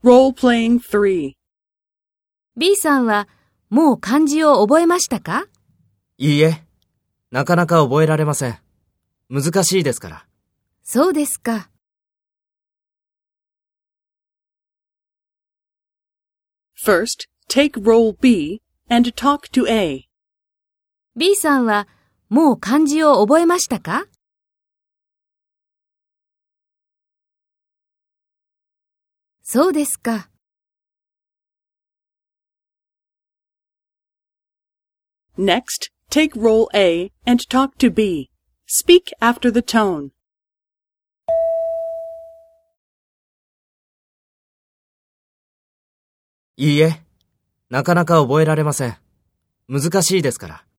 Role-playing 3. B さんはもう漢字を覚えましたか？ いいえ、なかなか覚えられません。難しいですから。 そうですか。 First, take role B and talk to A. B さんはもう漢字を覚えましたか？そうですか。 Next, take role A and talk to B. Speak after the tone. いいえ、なかなか覚えられません。難しいですから。